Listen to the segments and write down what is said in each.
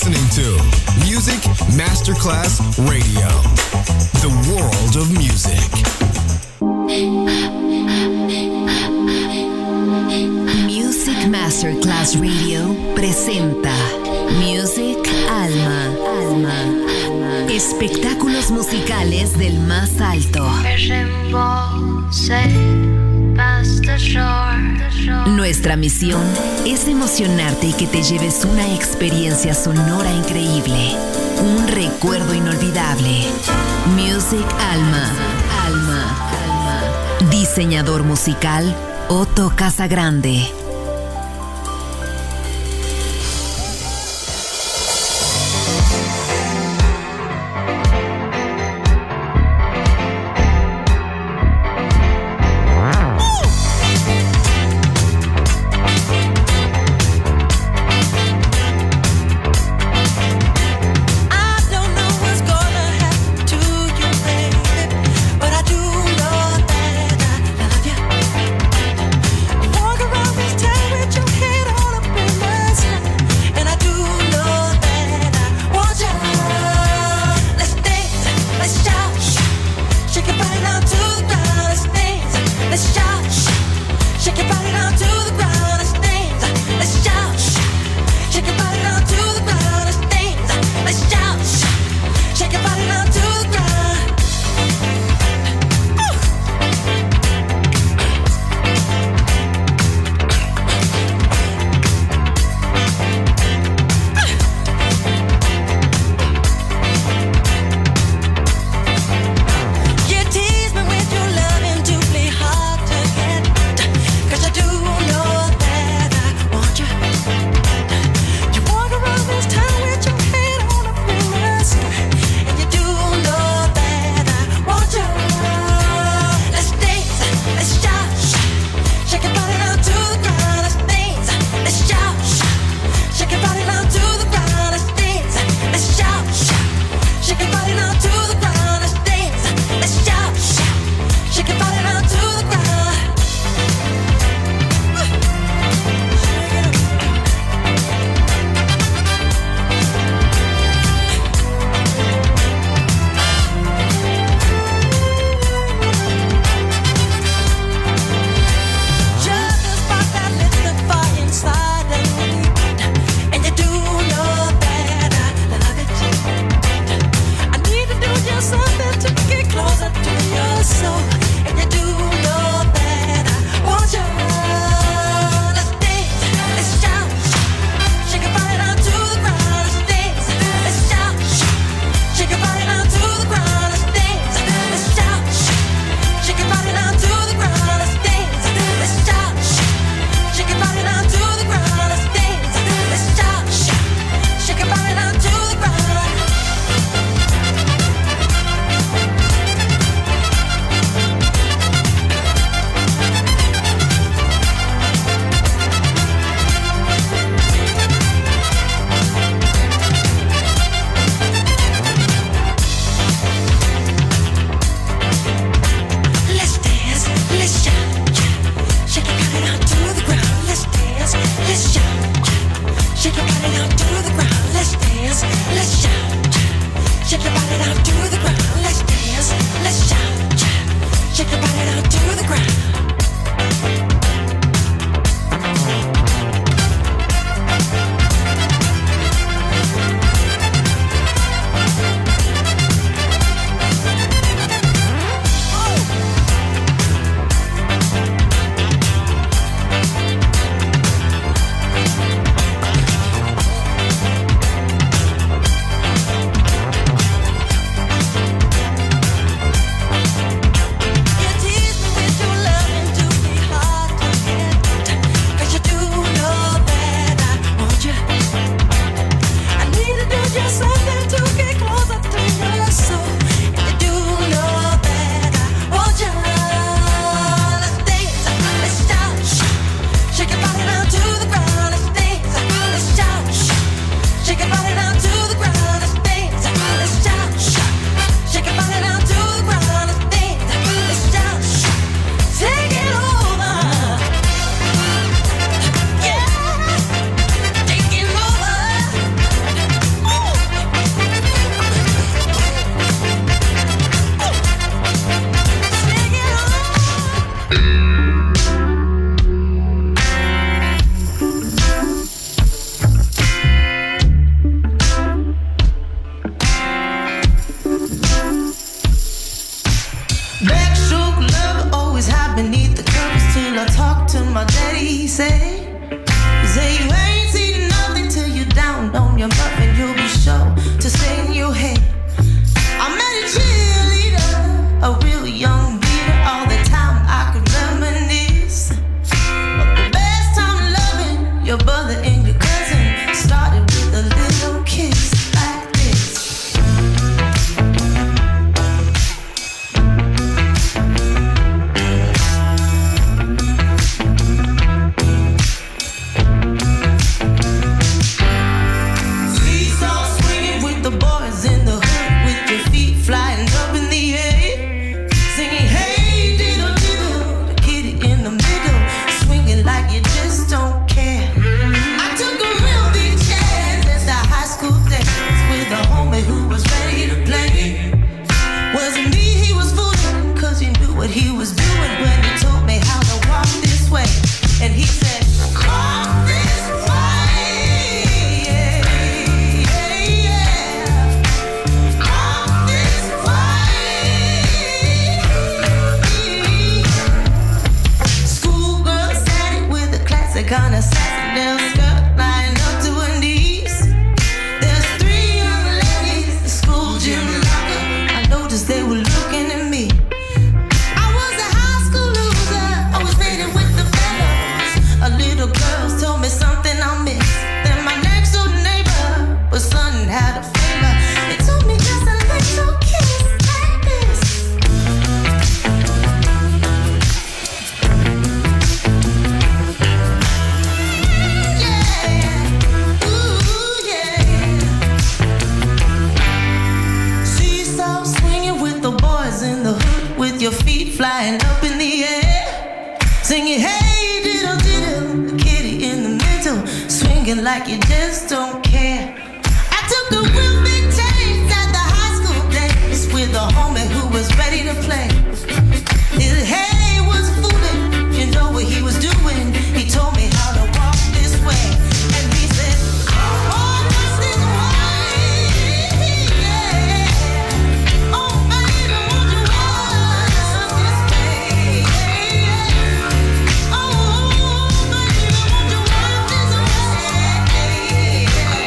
listening to Music Masterclass Radio, the world of music. Music Masterclass Radio presenta Music Alma. Espectáculos musicales del más alto. Nuestra misión es emocionarte y que te lleves una experiencia sonora increíble, un recuerdo inolvidable. Music Alma. Diseñador musical Otto Casagrande. just don't care. I took a real big chance at the high school days with a homie who was ready to play. His head was fooling, you know what he was doing. He told me how to walk this way, and he said, oh, this is way, yeah. Oh, baby, won't you walk this way? Oh, baby, won't you walk this way?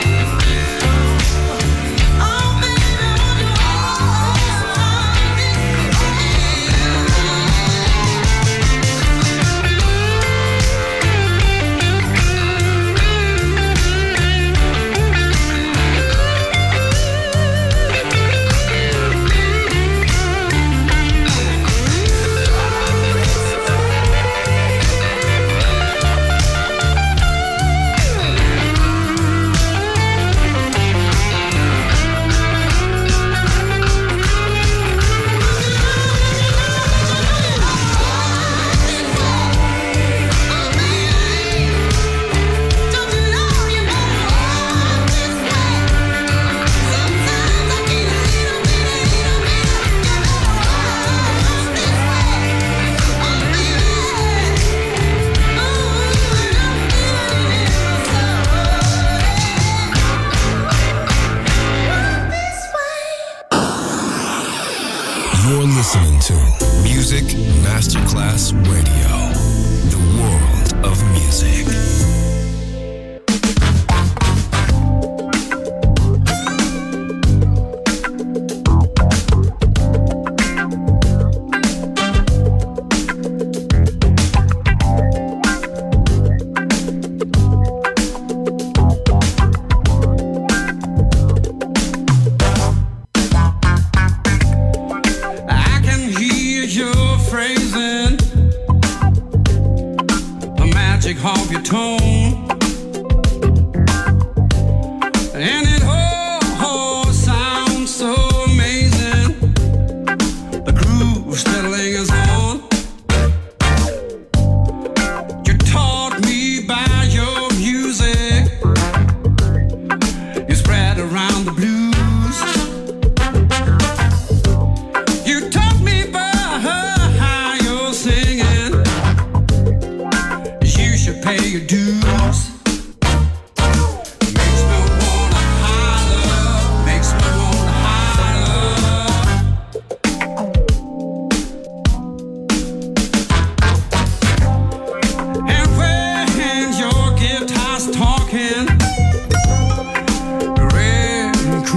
Oh, baby, won't you You're listening to Music Masterclass Radio, the world of music. I can hear your phrasing, the magic of your tone, and it all sounds so amazing. The groove still lingers on. You taught me by your music. You spread around the blues. You taught me by how you're singing. You should pay your dues. Makes me wanna holler. Makes me wanna holler. And when your guitar's talking, red and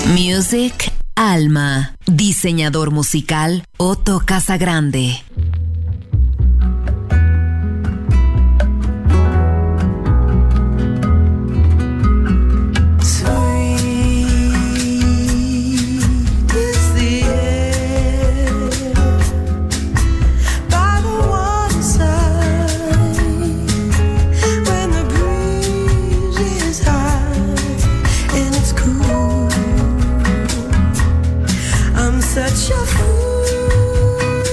Music Alma. Diseñador musical Otto Casagrande. Such a fool.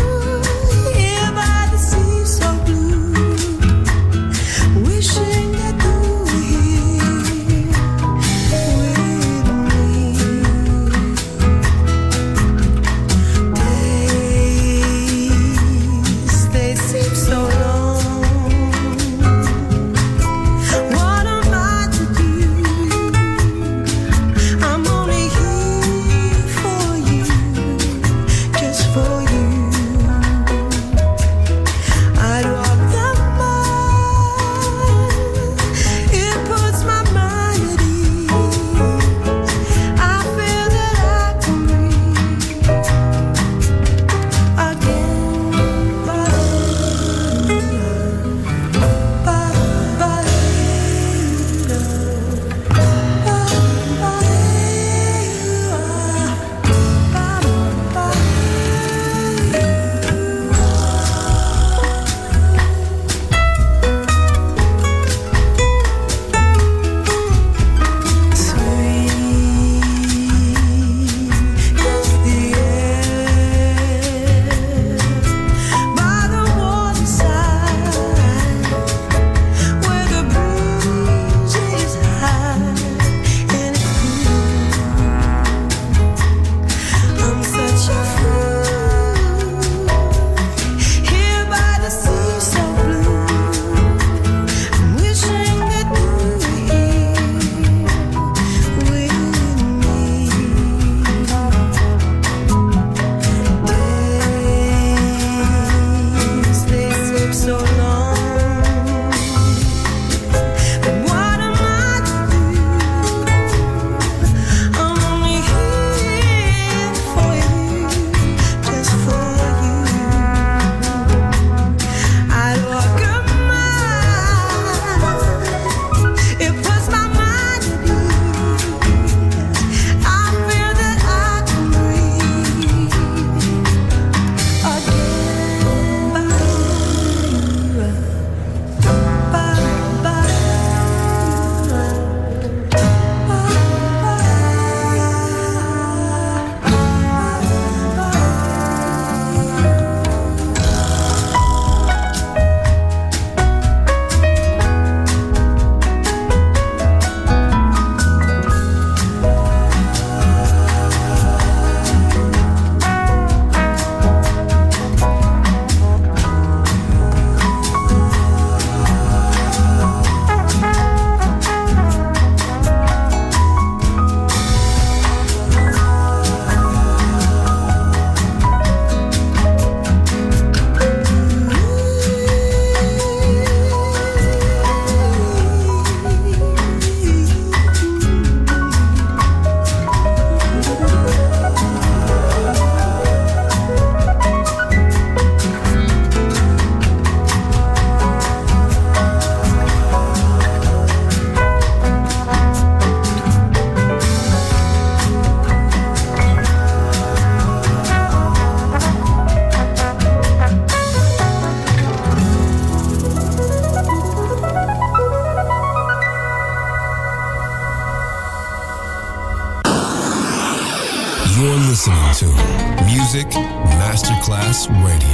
You're listening to Music Masterclass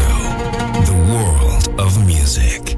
Radio, the world of music.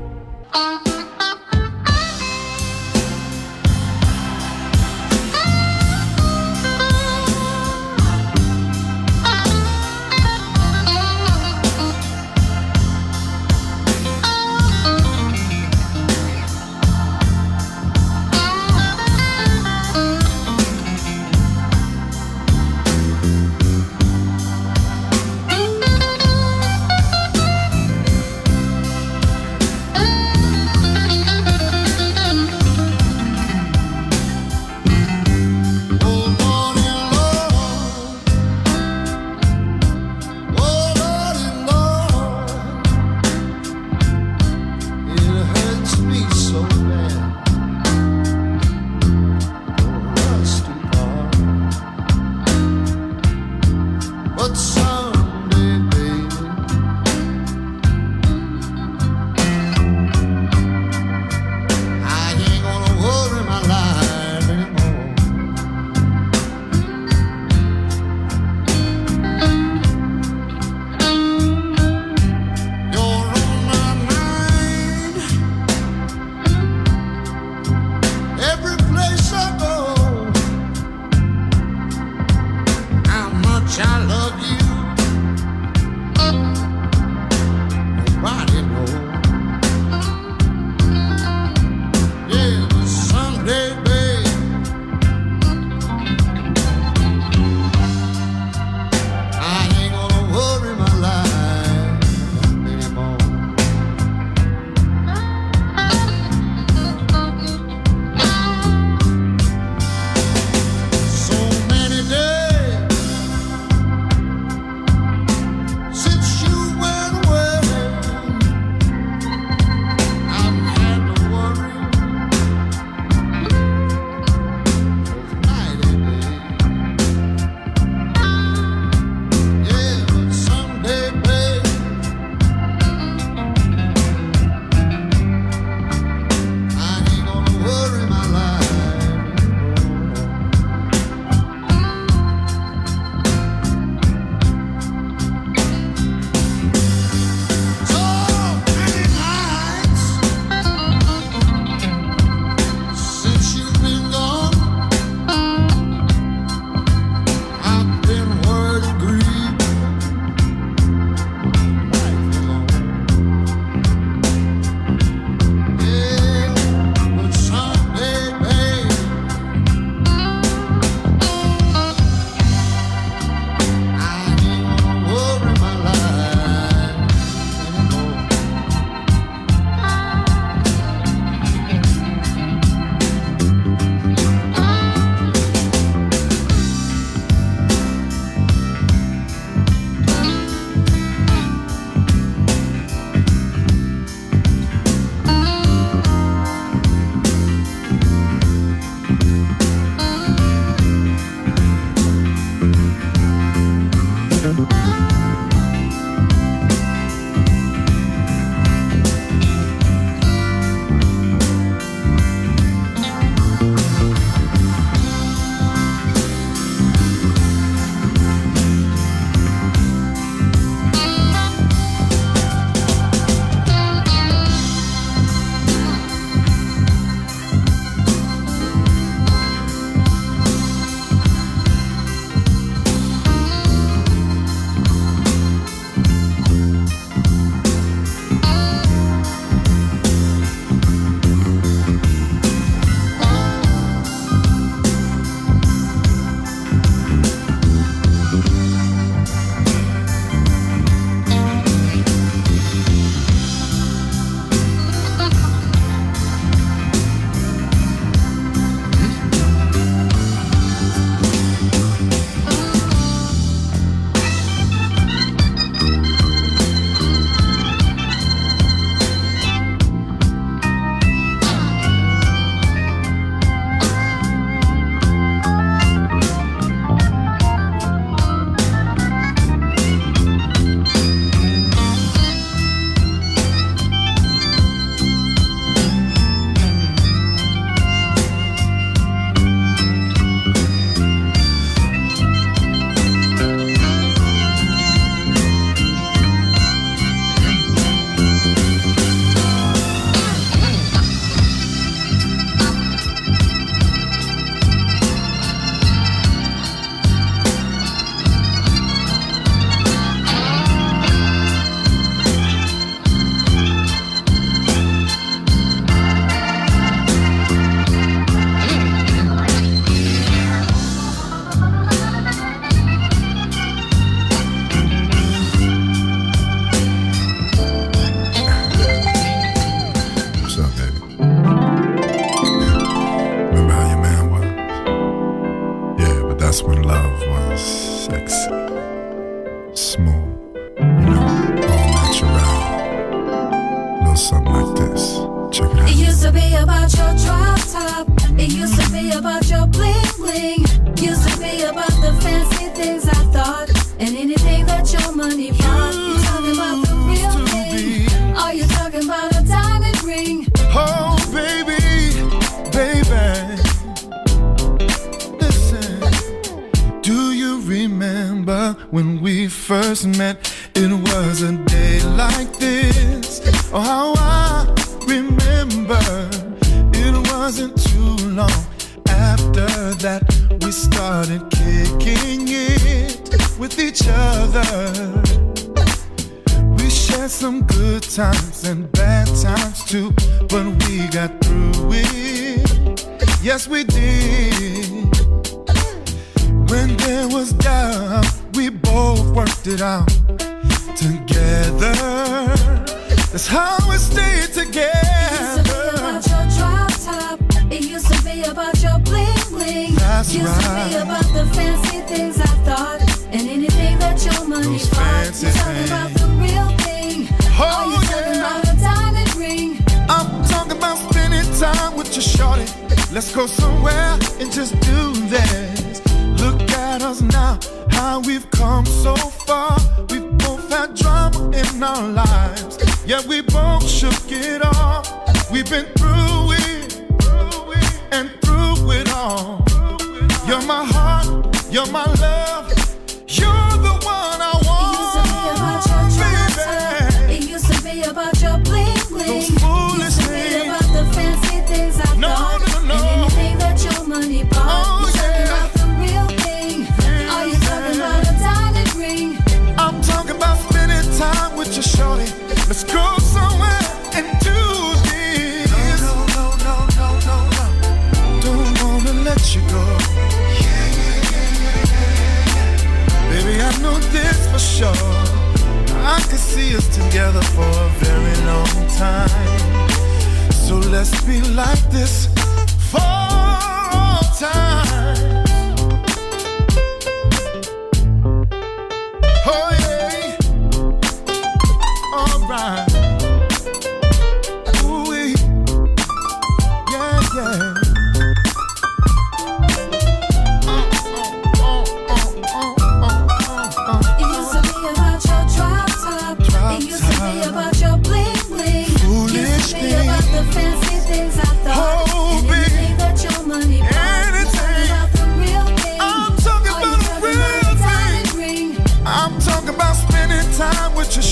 Fancy things I thought, anything that your money bought.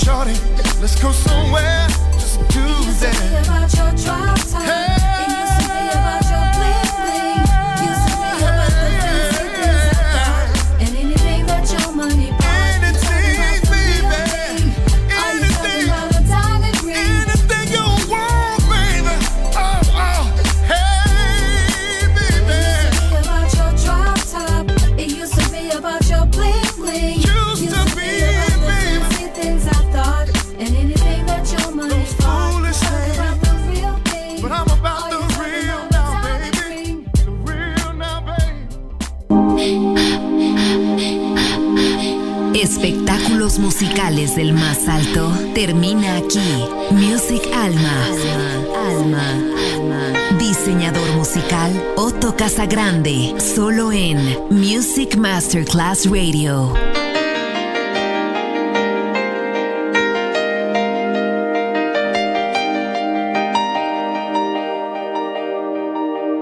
shorty, let's go somewhere. Just do that. Used to be about your drop top. It used to be about your bling bling. Used to be about the fancy things I thought. And anything that your money bought. Anything, baby. Are you talking about a diamond ring? Anything you want, baby. Oh, hey, baby. It used to be about your drop top. It used to be about your bling bling. Used to be, about the baby. fancy things I thought. And anything that your money bought. Foolish things. About the real thing. But I'm about the real now, baby. The real now, baby. Espectáculos musicales del más alto termina aquí. Music Alma. Diseñador musical Otto Casagrande, solo en Music Masterclass Radio.